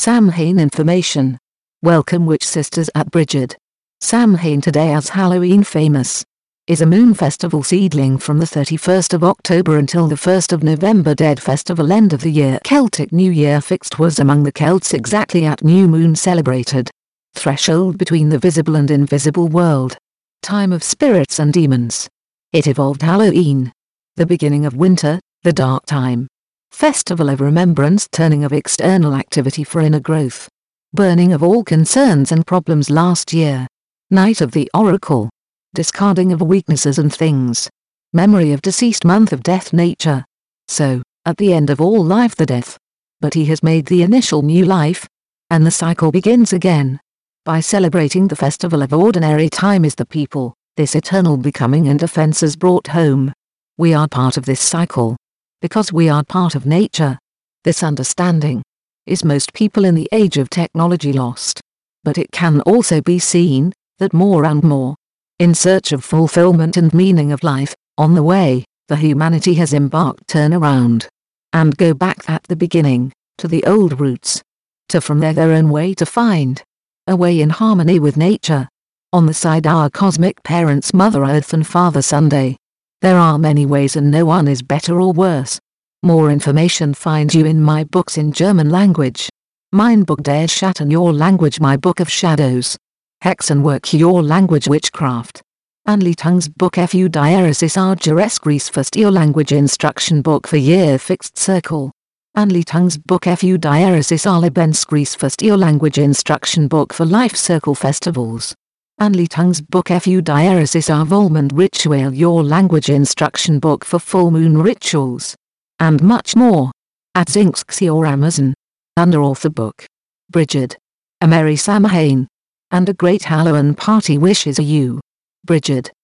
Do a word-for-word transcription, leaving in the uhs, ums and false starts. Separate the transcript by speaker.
Speaker 1: Samhain information. Welcome Witch Sisters at Bridget. Samhain, today as Halloween famous, is a moon festival seedling from the thirty-first of October until the first of November. Dead festival, end of the year. Celtic New Year fixed was among the Celts exactly at new moon celebrated. Threshold between the visible and invisible world. Time of spirits and demons. It evolved Halloween. The beginning of winter, the dark time. Festival of remembrance, turning of external activity for inner growth. Burning of all concerns and problems last year. Night of the Oracle. Discarding of weaknesses and things. Memory of deceased, month of death, nature. So, at the end of all life, the death. But he has made the initial new life. And the cycle begins again. By celebrating the festival of ordinary time is the people, this eternal becoming and offenses brought home. We are part of this cycle. Because we are part of nature. This understanding is most people in the age of technology lost. But it can also be seen that more and more, in search of fulfillment and meaning of life, on the way, the humanity has embarked turn around and go back at the beginning, to the old roots, to from there their own way to find a way in harmony with nature. On the side our cosmic parents, Mother Earth and Father Sunday. There are many ways and no one is better or worse. More information find you in my books in German language. Mein Buch der Schatten, your language, my book of shadows. Hexenwerk, your language, witchcraft. Anleitungs book Fu Diaresis Argerescris first, your language instruction book for year fixed circle. Anleitungs book Fu Diaresis Arlebenskris first, your language instruction book for life circle festivals. Anleitungs book Fu Diaresis Volmond Ritual, your language instruction book for full moon rituals. And much more. At Zinksxi or Amazon. Under author book. Bridget. A merry Samhain. And a great Halloween party wishes you. Bridget.